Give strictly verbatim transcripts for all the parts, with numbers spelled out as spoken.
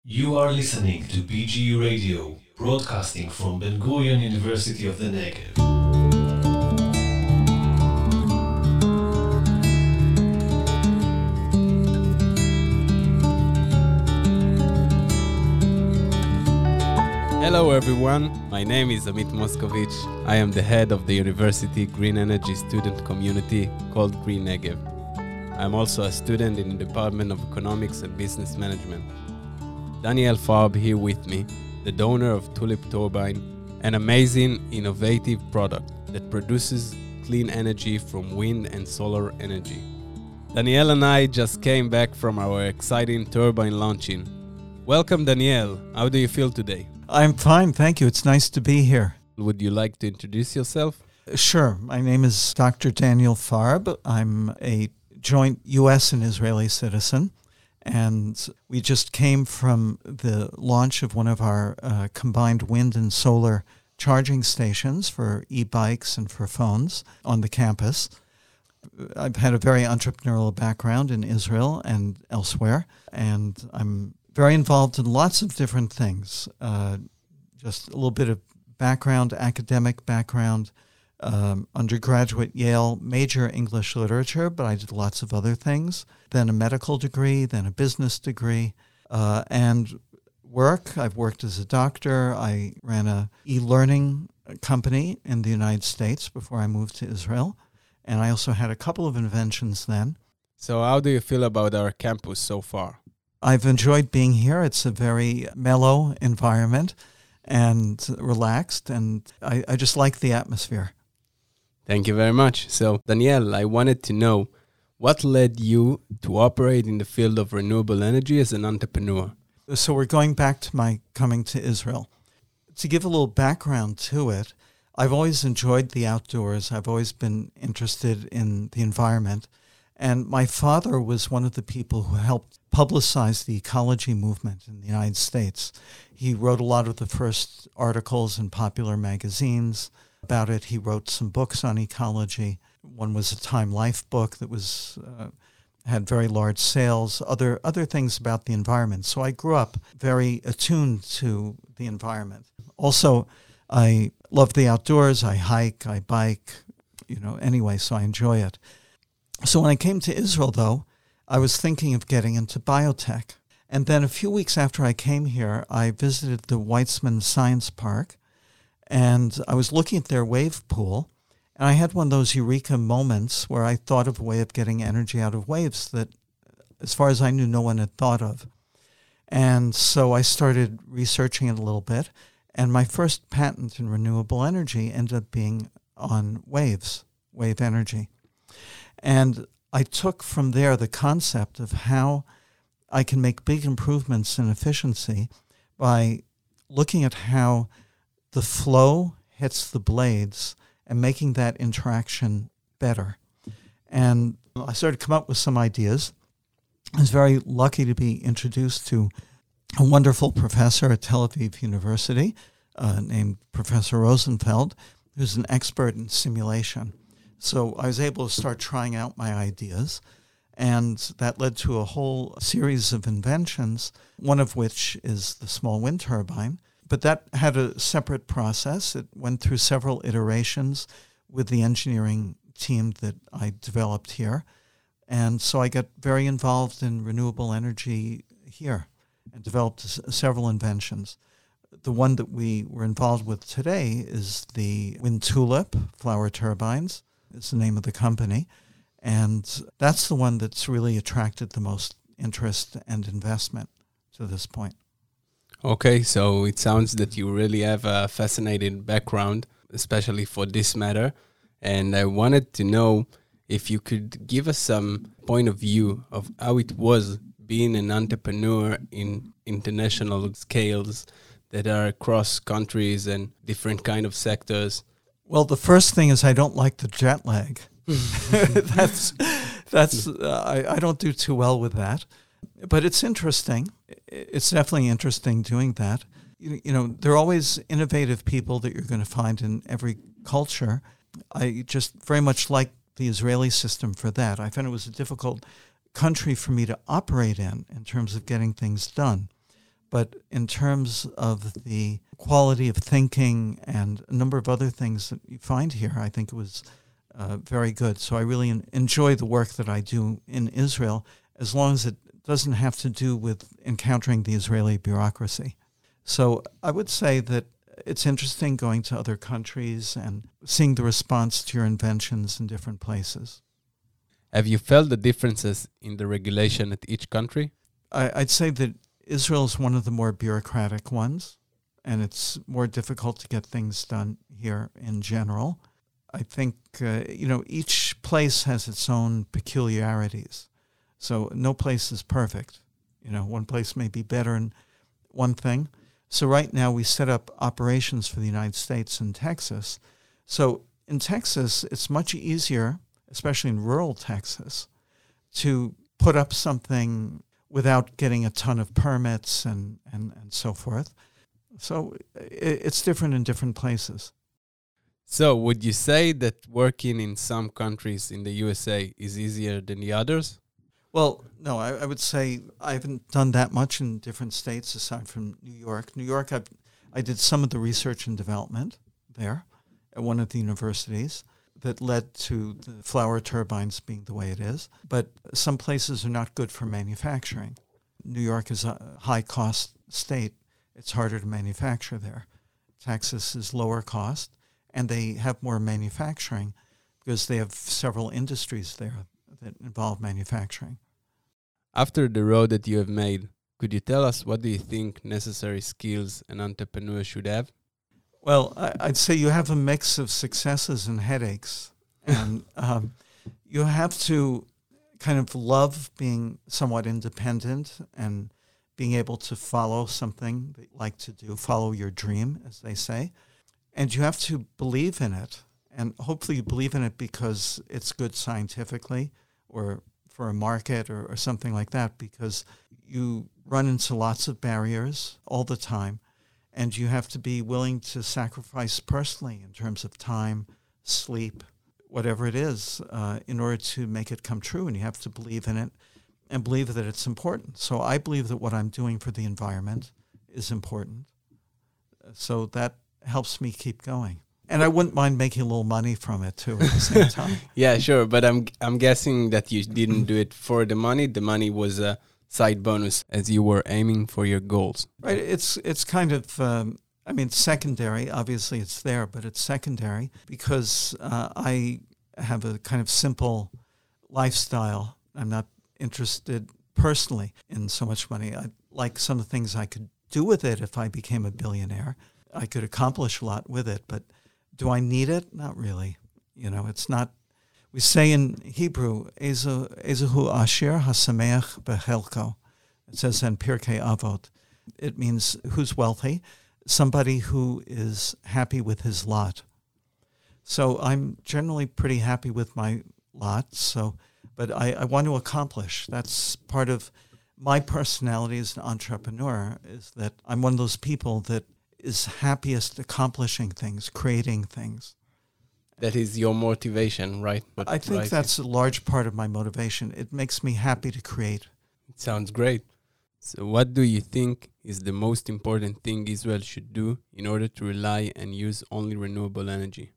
You are listening to B G U Radio, broadcasting from Ben Gurion University of the Negev. Hello everyone, my name is Amit Moskovich. I am the head of the university green energy student community called Green Negev. I am also a student in the Department of Economics and Business Management. Daniel Farb here with me, the donor of Tulip Turbine, an amazing, innovative product that produces clean energy from wind and solar energy. Daniel and I just came back from our exciting turbine launching. Welcome, Daniel. How do you feel today? I'm fine, thank you. It's nice to be here. Would you like to introduce yourself? Sure. My name is Doctor Daniel Farb. I'm a joint U S and Israeli citizen, and we just came from the launch of one of our uh, combined wind and solar charging stations for e-bikes and for phones on the campus. I've had a very entrepreneurial background in Israel and elsewhere, and I'm very involved in lots of different things. Uh, just a little bit of background, academic background, um, undergraduate Yale, major English literature, but I did lots of other things. Then a medical degree, then a business degree, uh, and work. I've worked as a doctor. I ran a e-learning company in the United States before I moved to Israel, and I also had a couple of inventions then. So how do you feel about our campus so far? I've enjoyed being here. It's a very mellow environment and relaxed, and I, I just like the atmosphere. Thank you very much. So, Daniel, I wanted to know what led you to operate in the field of renewable energy as an entrepreneur? So we're going back to my coming to Israel. To give a little background to it, I've always enjoyed the outdoors. I've always been interested in the environment. And my father was one of the people who helped publicize the ecology movement in the United States. He wrote a lot of the first articles in popular magazines about it. He wrote some books on ecology. One was a Time Life book that was uh, had very large sales, other other things about the environment. So I grew up very attuned to the environment. Also, I love the outdoors. I hike, I bike, you know, anyway, so I enjoy it. So when I came to Israel, though, I was thinking of getting into biotech. And then a few weeks after I came here, I visited the Weizmann Science Park, and I was looking at their wave pool, and I had one of those eureka moments where I thought of a way of getting energy out of waves that, as far as I knew, no one had thought of. And so I started researching it a little bit, and my first patent in renewable energy ended up being on waves, wave energy. And I took from there the concept of how I can make big improvements in efficiency by looking at how the flow hits the blades and making that interaction better. And I started to come up with some ideas. I was very lucky to be introduced to a wonderful professor at Tel Aviv University uh, named Professor Rosenfeld, who's an expert in simulation. So I was able to start trying out my ideas, and that led to a whole series of inventions, one of which is the small wind turbine. But that had a separate process. It went through several iterations with the engineering team that I developed here. And so I got very involved in renewable energy here and developed s- several inventions. The one that we were involved with today is the Wind Tulip flower turbines. Is the name of the company. And that's the one that's really attracted the most interest and investment to this point. Okay, so it sounds that you really have a fascinating background, especially for this matter. And I wanted to know if you could give us some point of view of how it was being an entrepreneur in international scales that are across countries and different kind of sectors. Well, the first thing is I don't like the jet lag. that's that's uh, I, I don't do too well with that. But it's interesting. It's definitely interesting doing that. You, you know, there are always innovative people that you're going to find in every culture. I just very much like the Israeli system for that. I found it was a difficult country for me to operate in, in terms of getting things done. But in terms of the quality of thinking and a number of other things that you find here, I think it was uh, very good. So I really en- enjoy the work that I do in Israel, as long as it doesn't have to do with encountering the Israeli bureaucracy. So I would say that it's interesting going to other countries and seeing the response to your inventions in different places. Have you felt the differences in the regulation at each country? I, I'd say that Israel is one of the more bureaucratic ones, and it's more difficult to get things done here in general. I think, uh, you know, each place has its own peculiarities. So no place is perfect. You know, one place may be better in one thing. So right now we set up operations for the United States in Texas. So in Texas, it's much easier, especially in rural Texas, to put up something without getting a ton of permits and, and, and so forth. So it, it's different in different places. So would you say that working in some countries in the U S A is easier than the others? Well, no, I, I would say I haven't done that much in different states aside from New York. New York, I I did some of the research and development there at one of the universities that led to the flower turbines being the way it is. But some places are not good for manufacturing. New York is a high-cost state. It's harder to manufacture there. Texas is lower cost, and they have more manufacturing because they have several industries there that involve manufacturing. After the road that you have made, could you tell us what do you think necessary skills an entrepreneur should have? Well, I, I'd say you have a mix of successes and headaches. And um, you have to kind of love being somewhat independent and being able to follow something that you like to do, follow your dream, as they say. And you have to believe in it. And hopefully you believe in it because it's good scientifically or for a market or, or something like that, because you run into lots of barriers all the time. And you have to be willing to sacrifice personally in terms of time, sleep, whatever it is, uh, in order to make it come true. And you have to believe in it and believe that it's important. So I believe that what I'm doing for the environment is important. So that helps me keep going. And I wouldn't mind making a little money from it, too, at the same time. Yeah, sure. But I'm I'm guessing that you didn't do it for the money. The money was a side bonus as you were aiming for your goals. Right. It's it's kind of, um, I mean, secondary. Obviously, it's there, but it's secondary because uh, I have a kind of simple lifestyle. I'm not interested personally in so much money. I like some of the things I could do with it if I became a billionaire. I could accomplish a lot with it, but do I need it? Not really. You know, it's not. We say in Hebrew, Ezehu Asher Hasameach Bechelko. It says in Pirkei Avot. It means who's wealthy, somebody who is happy with his lot. So I'm generally pretty happy with my lot. So, but I, I want to accomplish. That's part of my personality as an entrepreneur, is that I'm one of those people that is happiest accomplishing things, creating things. That is your motivation, right? What I think drives that's you? a large part of my motivation. It makes me happy to create. It sounds great. So what do you think is the most important thing Israel should do in order to rely and use only renewable energy?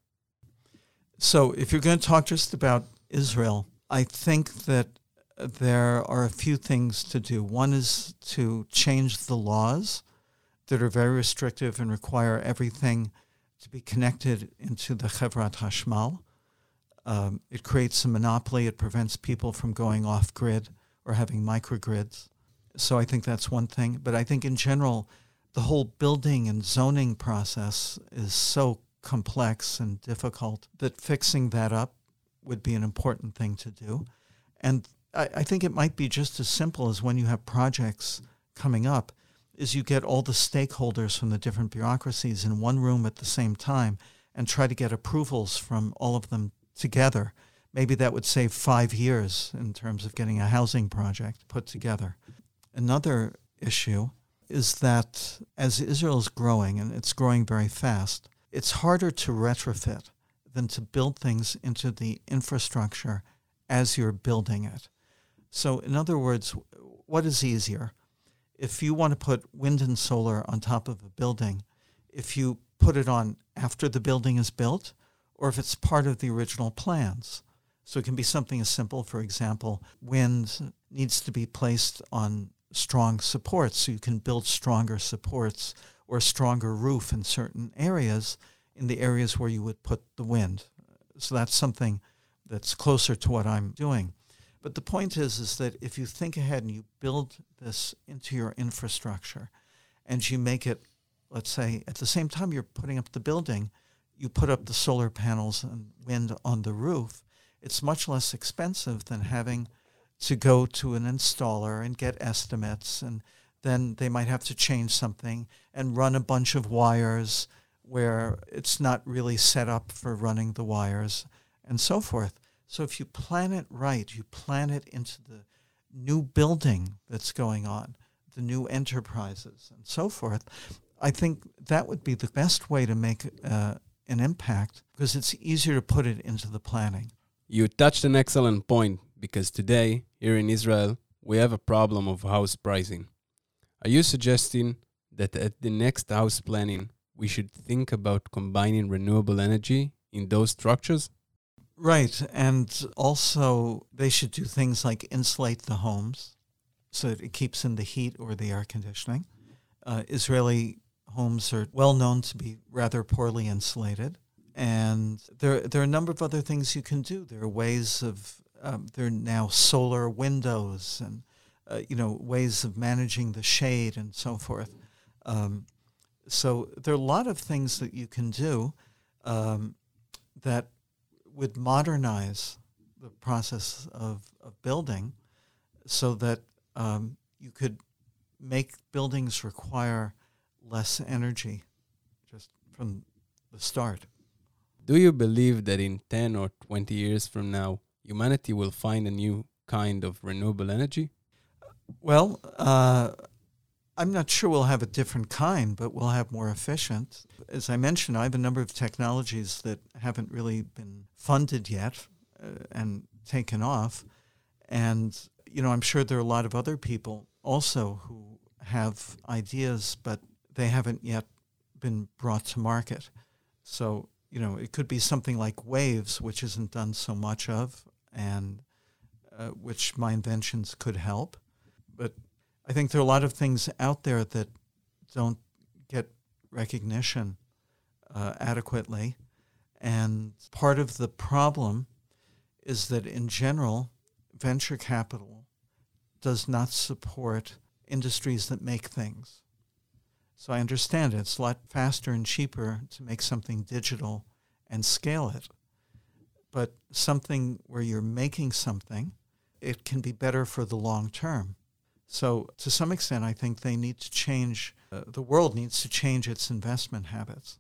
So if you're going to talk just about Israel, I think that there are a few things to do. One is to change the laws that are very restrictive and require everything to be connected into the Chevrat Hashmal. Um, it creates a monopoly. It prevents people from going off-grid or having microgrids. So I think that's one thing. But I think in general, the whole building and zoning process is so complex and difficult that fixing that up would be an important thing to do. And I, I think it might be just as simple as when you have projects coming up, is you get all the stakeholders from the different bureaucracies in one room at the same time and try to get approvals from all of them together. Maybe that would save five years in terms of getting a housing project put together. Another issue is that as Israel is growing, and it's growing very fast, it's harder to retrofit than to build things into the infrastructure as you're building it. So in other words, what is easier? if you want to put wind and solar on top of a building, if you put it on after the building is built, or if it's part of the original plans. So it can be something as simple, for example, wind needs to be placed on strong supports, so you can build stronger supports or a stronger roof in certain areas, in the areas where you would put the wind. So that's something that's closer to what I'm doing. But the point is, is that if you think ahead and you build this into your infrastructure and you make it, let's say, at the same time you're putting up the building, you put up the solar panels and wind on the roof, it's much less expensive than having to go to an installer and get estimates, and then they might have to change something and run a bunch of wires where it's not really set up for running the wires and so forth. So if you plan it right, you plan it into the new building that's going on, the new enterprises and so forth, I think that would be the best way to make uh, an impact, because it's easier to put it into the planning. You touched an excellent point, because today, here in Israel, we have a problem of house pricing. Are you suggesting that at the next house planning, we should think about combining renewable energy in those structures? Right, and also they should do things like insulate the homes so that it keeps in the heat or the air conditioning. Uh, Israeli homes are well known to be rather poorly insulated, and there there are a number of other things you can do. There are ways of um, there are now solar windows and uh, you know ways of managing the shade and so forth. Um, so there are a lot of things that you can do um, that would modernize the process of, of building, so that um, you could make buildings require less energy just from the start. Do you believe that in ten or twenty years from now, humanity will find a new kind of renewable energy? Well, uh, I'm not sure we'll have a different kind, but we'll have more efficient. As I mentioned, I have a number of technologies that haven't really been funded yet uh, and taken off. And, you know, I'm sure there are a lot of other people also who have ideas, but they haven't yet been brought to market. So, you know, it could be something like waves, which isn't done so much of, and uh, which my inventions could help. But I think there are a lot of things out there that don't get recognition uh, adequately. And part of the problem is that in general, venture capital does not support industries that make things. So I understand it. It's a lot faster and cheaper to make something digital and scale it. But something where you're making something, it can be better for the long term. So to some extent, I think they need to change, uh, the world needs to change its investment habits.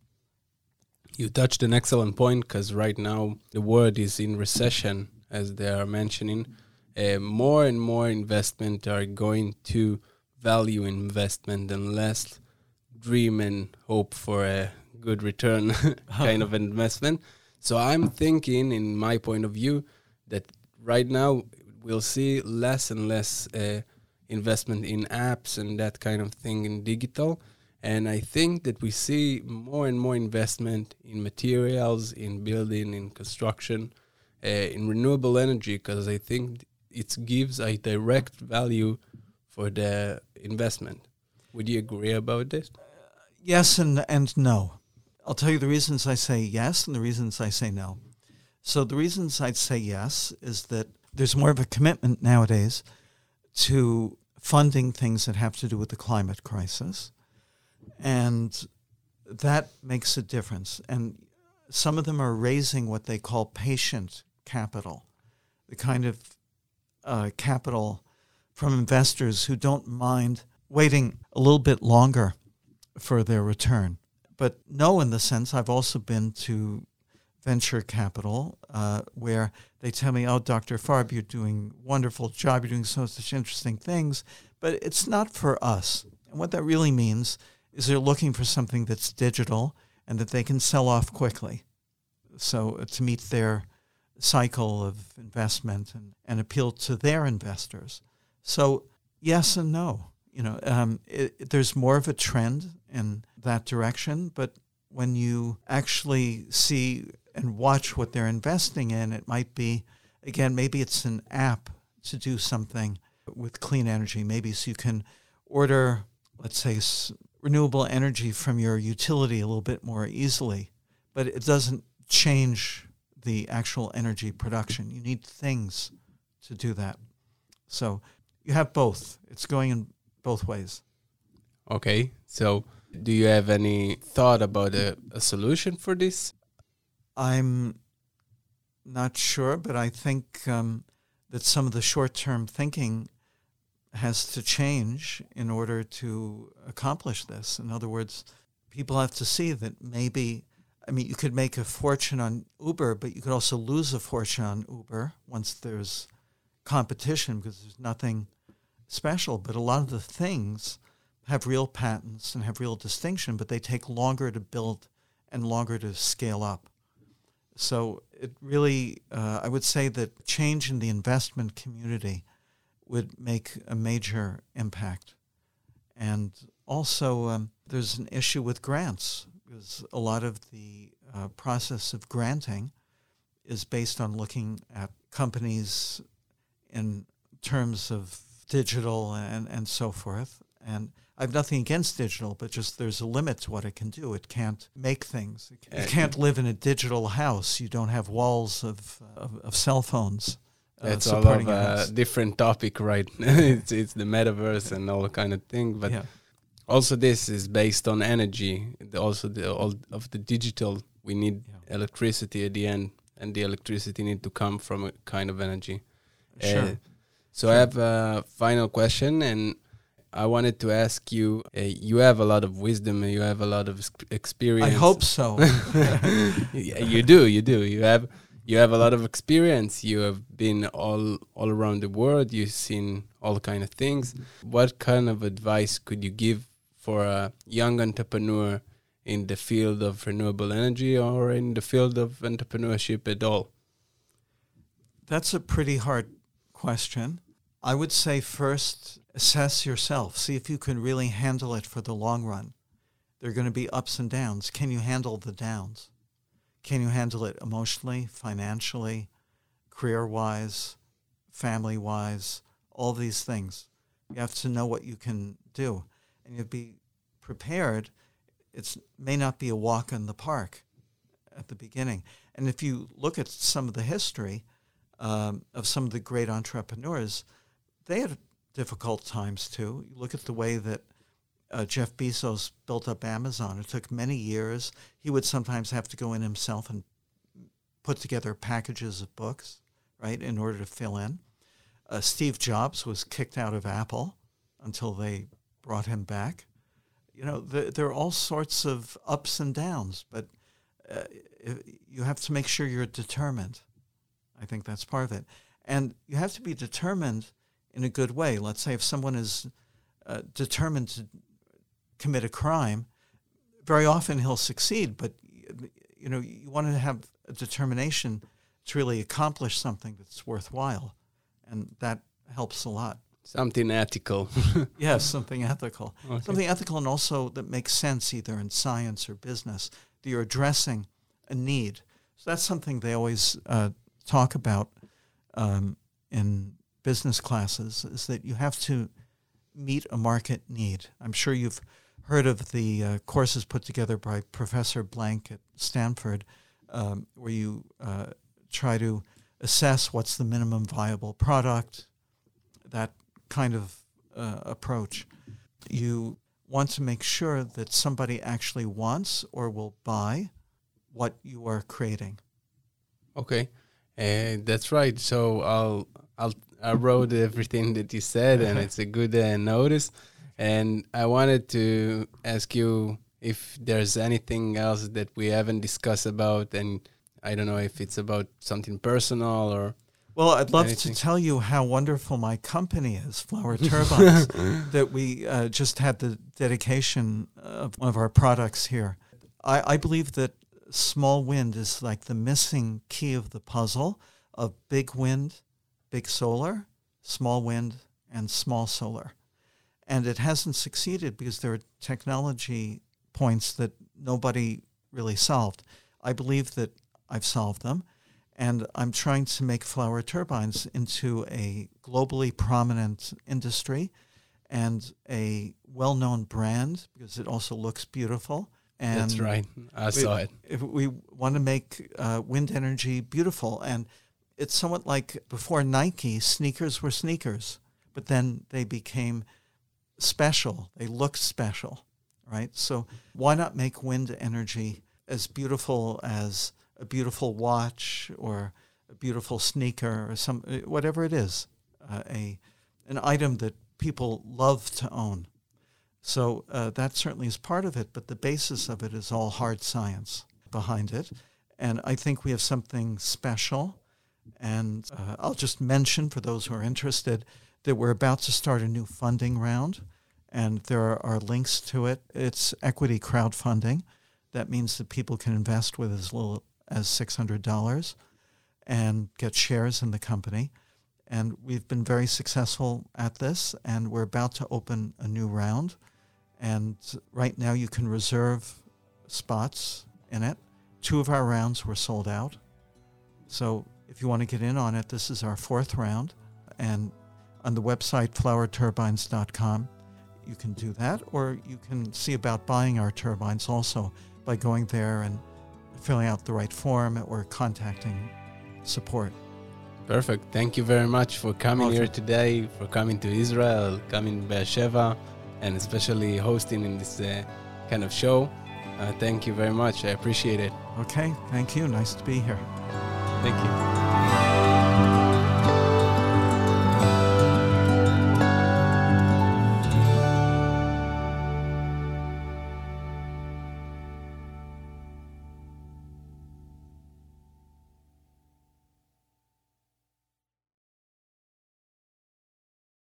You touched an excellent point, because right now the world is in recession, as they are mentioning. Uh, more and more investment are going to value investment and less dream and hope for a good return kind of investment. So I'm thinking, in my point of view, that right now we'll see less and less uh, investment in apps and that kind of thing in digital. And I think that we see more and more investment in materials, in building, in construction, uh, in renewable energy, because I think it gives a direct value for the investment. Would you agree about this? Yes and, and no. I'll tell you the reasons I say yes and the reasons I say no. So the reasons I'd say yes is that there's more of a commitment nowadays to funding things that have to do with the climate crisis. And that makes a difference. And some of them are raising what they call patient capital, the kind of uh, capital from investors who don't mind waiting a little bit longer for their return. But no, in the sense, I've also been to venture capital uh, where they tell me, oh, Doctor Farb, you're doing a wonderful job, you're doing so such interesting things, but it's not for us. And what that really means is they're looking for something that's digital and that they can sell off quickly. So uh, to meet their cycle of investment and, and appeal to their investors. So yes and no. You know, um, it, there's more of a trend in that direction, but when you actually see and watch what they're investing in, it might be, again, maybe it's an app to do something with clean energy. Maybe so you can order, let's say, s- renewable energy from your utility a little bit more easily, but it doesn't change the actual energy production. You need things to do that. So you have both. It's going in both ways. Okay, so do you have any thought about a, a solution for this? I'm not sure, but I think um, that some of the short-term thinking has to change in order to accomplish this. In other words, people have to see that maybe, I mean, you could make a fortune on Uber, but you could also lose a fortune on Uber once there's competition because there's nothing special. But a lot of the things have real patents and have real distinction, but they take longer to build and longer to scale up. So it really, uh, I would say that change in the investment community would make a major impact. And also, um, there's an issue with grants, because a lot of the uh, process of granting is based on looking at companies in terms of digital and, and so forth. And I have nothing against digital, but just there's a limit to what it can do. It can't make things. It can't live in a digital house. You don't have walls of, of, of cell phones. That's uh, all of a different topic, right? it's it's the metaverse and all kind of thing. But yeah. also this is based on energy. The, also the all of the digital, we need yeah. electricity at the end, and the electricity need to come from a kind of energy. Sure. Uh, so sure. I have a final question, and I wanted to ask you, uh, you have a lot of wisdom, and you have a lot of experience. I hope so. Yeah, you do, you do. You have you have a lot of experience. You have been all all around the world. You've seen all kind of things. What kind of advice could you give for a young entrepreneur in the field of renewable energy or in the field of entrepreneurship at all? That's a pretty hard question. I would say first, assess yourself. See if you can really handle it for the long run. There are going to be ups and downs. Can you handle the downs? Can you handle it emotionally, financially, career-wise, family-wise, all these things? You have to know what you can do. And you have to be prepared. It may not be a walk in the park at the beginning. And if you look at some of the history um, of some of the great entrepreneurs, they had difficult times too. You look at the way that uh, Jeff Bezos built up Amazon. It took many years. He would sometimes have to go in himself and put together packages of books, right, in order to fill in. Uh, Steve Jobs was kicked out of Apple until they brought him back. You know, the, there are all sorts of ups and downs, but uh, you have to make sure you're determined. I think that's part of it. And you have to be determined in a good way. Let's say if someone is uh, determined to commit a crime, very often he'll succeed, but you know, you want to have a determination to really accomplish something that's worthwhile, and that helps a lot. Something ethical. Yes, something ethical. Okay. Something ethical and also that makes sense either in science or business, that you're addressing a need. So that's something they always uh, talk about um, in business classes, is that you have to meet a market need. I'm sure you've heard of the uh, courses put together by Professor Blank at Stanford, um, where you uh, try to assess what's the minimum viable product, that kind of uh, approach. You want to make sure that somebody actually wants or will buy what you are creating. Okay, uh, that's right. So I'll I'll I wrote everything that you said, and it's a good uh, notice. And I wanted to ask you if there's anything else that we haven't discussed about, and I don't know if it's about something personal or... Well, I'd love anything. to tell you how wonderful my company is, Flower Turbines, that we uh, just had the dedication of one of our products here. I, I believe that small wind is like the missing key of the puzzle of big wind, big solar, small wind, and small solar. And it hasn't succeeded because there are technology points that nobody really solved. I believe that I've solved them, and I'm trying to make flower turbines into a globally prominent industry and a well-known brand because it also looks beautiful. And That's right. I saw we, it. If we want to make uh, wind energy beautiful, and it's somewhat like before Nike, sneakers were sneakers, but then they became special. They looked special, right? So why not make wind energy as beautiful as a beautiful watch or a beautiful sneaker or some whatever it is, uh, a an item that people love to own. So uh, that certainly is part of it, but the basis of it is all hard science behind it. And I think we have something special. And uh, I'll just mention for those who are interested that we're about to start a new funding round, and there are, are links to it. It's equity crowdfunding. That means that people can invest with as little as six hundred dollars and get shares in the company. And we've been very successful at this, and we're about to open a new round. And right now you can reserve spots in it. Two of our rounds were sold out. So if you want to get in on it, this is our fourth round. And on the website flower turbines dot com, you can do that. Or you can see about buying our turbines also by going there and filling out the right form or contacting support. Perfect. Thank you very much for coming Welcome. here today, for coming to Israel, coming to Beersheba, and especially hosting in this uh, kind of show. Uh, thank you very much. I appreciate it. Okay, thank you. Nice to be here. Thank you.